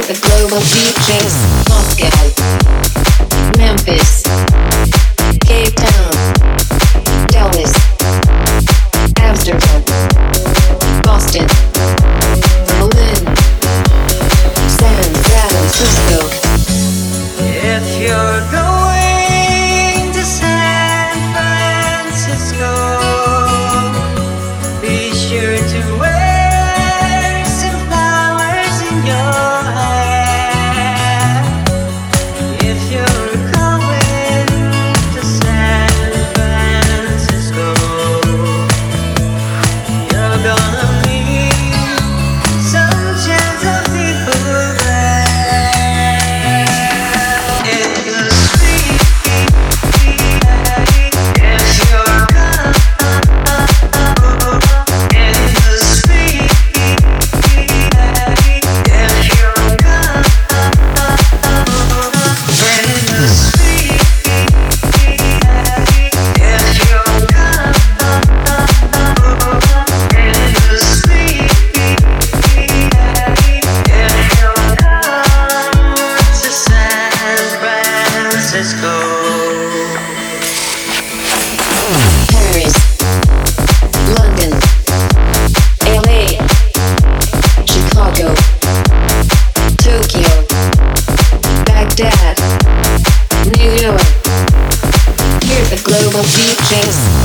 the global DJs. Moscow, Memphis, Cape Town, Dallas, Amsterdam, Boston, Berlin, San Francisco. If you're going to San Francisco, be sure to wear some flowers in your hair. If you're going to San Francisco, you're gonna meet some gentle people there. In the street, if you're gonna in the street, if you're gonna in the street, if you're gonna in the street, if you're to San Francisco. Paris, London, LA, Chicago, Tokyo, Baghdad, New York. Hear the global DJs.